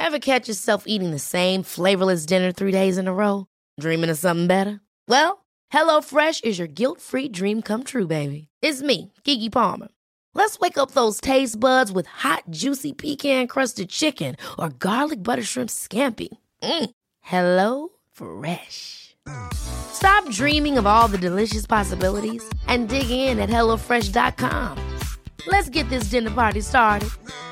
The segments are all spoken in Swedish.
Ever catch yourself eating the same flavorless dinner 3 days in a row? Dreaming of something better? Well, HelloFresh is your guilt-free dream come true, baby. It's me, Keke Palmer. Let's wake up those taste buds with hot, juicy pecan-crusted chicken or garlic butter shrimp scampi. Hello Fresh. Stop dreaming of all the delicious possibilities and dig in at HelloFresh.com. Let's get this dinner party started.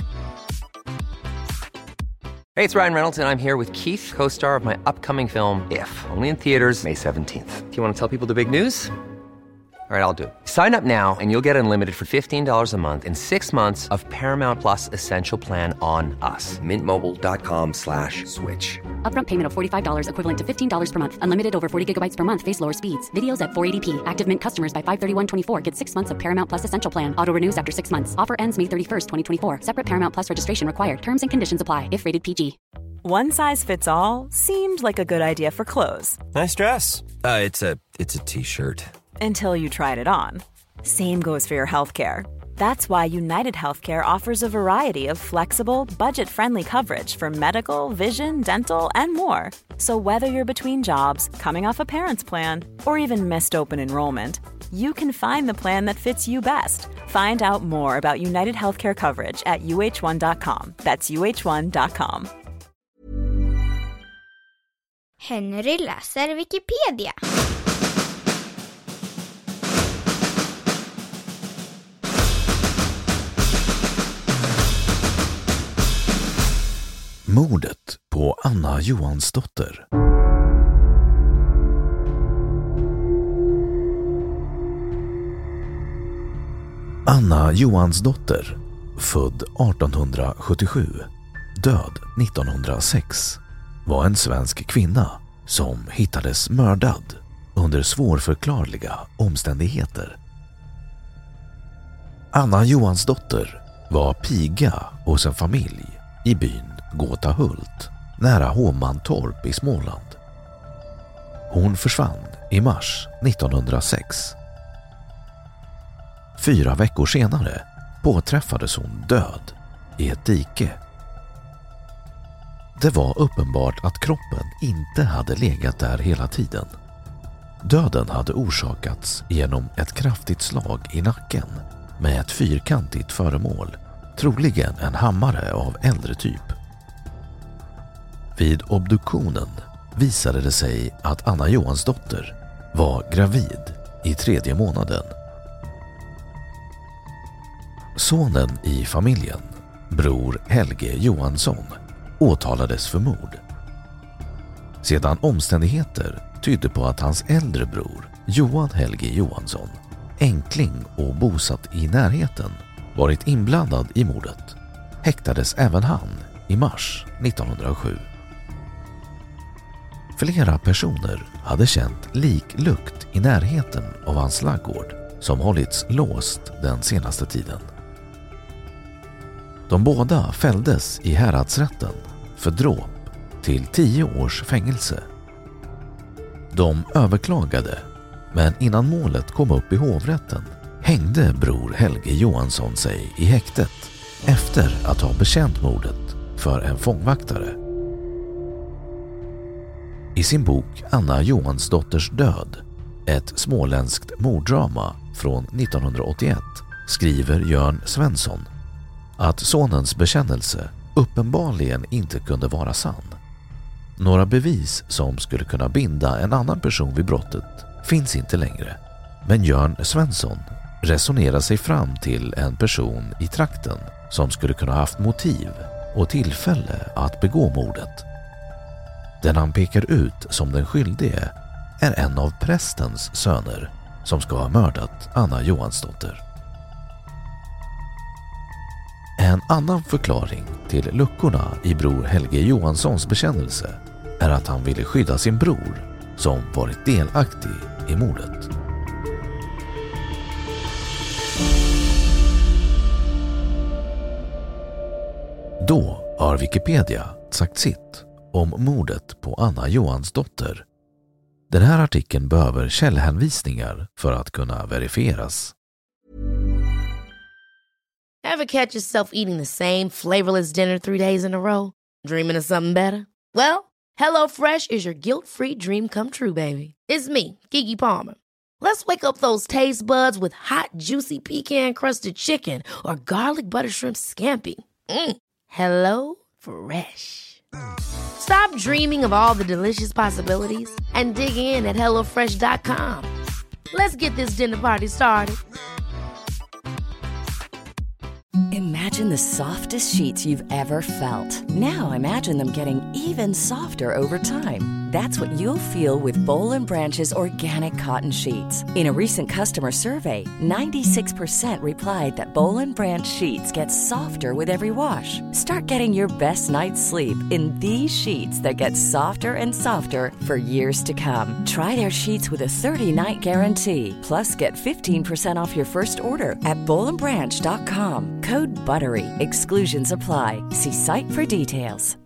Hey, it's Ryan Reynolds, and I'm here with Keith, co-star of my upcoming film, If, only in theaters May 17th. Do you want to tell people the big news? All right, I'll do it. Sign up now and you'll get unlimited for $15 a month and 6 months of Paramount Plus Essential Plan on us. MintMobile.com/switch. Upfront payment of $45 equivalent to $15 per month. Unlimited over 40 gigabytes per month. Face lower speeds. Videos at 480p. Active Mint customers by 531.24 get 6 months of Paramount Plus Essential Plan. Auto renews after 6 months. Offer ends May 31st, 2024. Separate Paramount Plus registration required. Terms and conditions apply if rated PG. One size fits all seemed like a good idea for clothes. Nice dress. It's a t-shirt. Until you tried it on. Same goes for your healthcare. That's why United Healthcare offers a variety of flexible, budget-friendly coverage for medical, vision, dental, and more. So whether you're between jobs, coming off a parent's plan, or even missed open enrollment, you can find the plan that fits you best. Find out more about United Healthcare coverage at uh1.com. That's uh1.com. Henry läser Wikipedia. Mordet på Anna Johansdotter. Anna Johansdotter, född 1877, död 1906, var en svensk kvinna som hittades mördad under svårförklarliga omständigheter. Anna Johansdotter var piga hos en familj i byn Gåtahult, nära Hovmantorp i Småland. Hon försvann i mars 1906. 4 veckor senare påträffades hon död i ett dike. Det var uppenbart att kroppen inte hade legat där hela tiden. Döden hade orsakats genom ett kraftigt slag i nacken med ett fyrkantigt föremål, troligen en hammare av äldre typ. Vid obduktionen visade det sig att Anna Johansdotter var gravid i 3:e månaden. Sonen i familjen, bror Helge Johansson, åtalades för mord. Sedan omständigheter tydde på att hans äldre bror, Johan Helge Johansson, enkling och bosatt i närheten, varit inblandad i mordet, häktades även han i mars 1907. Flera personer hade känt liklukt i närheten av hans ladugård som hållits låst den senaste tiden. De båda fälldes i häradsrätten för dråp till 10 års fängelse. De överklagade, men innan målet kom upp i hovrätten hängde bror Helge Johansson sig i häktet efter att ha bekänt mordet för en fångvaktare. I sin bok Anna Johansdotters död, ett småländskt morddrama från 1981, skriver Jörn Svensson att sonens bekännelse uppenbarligen inte kunde vara sann. Några bevis som skulle kunna binda en annan person vid brottet finns inte längre, men Jörn Svensson resonerar sig fram till en person i trakten som skulle kunna haft motiv och tillfälle att begå mordet. Den han pekar ut som den skyldige är en av prästens söner som ska ha mördat Anna Johansdotter. En annan förklaring till luckorna i bror Helge Johanssons bekännelse är att han ville skydda sin bror som varit delaktig i mordet. Då har Wikipedia sagt sitt om mordet på Anna Johansdotter. Den här artikeln behöver källhänvisningar för att kunna verifieras. Ever catch yourself eating the same flavorless dinner 3 days in a row? Dreaming of something better? Well, HelloFresh is your guilt-free dream come true, baby. It's me, Keke Palmer. Let's wake up those taste buds with hot, juicy pecan-crusted chicken or garlic butter shrimp scampi. Hello Fresh. Stop dreaming of all the delicious possibilities and dig in at HelloFresh.com. Let's get this dinner party started. Imagine the softest sheets you've ever felt. Now imagine them getting even softer over time. That's what you'll feel with Boll & Branch's organic cotton sheets. In a recent customer survey, 96% replied that Boll & Branch sheets get softer with every wash. Start getting your best night's sleep in these sheets that get softer and softer for years to come. Try their sheets with a 30-night guarantee. Plus, get 15% off your first order at bollandbranch.com. Code BUTTERY. Exclusions apply. See site for details.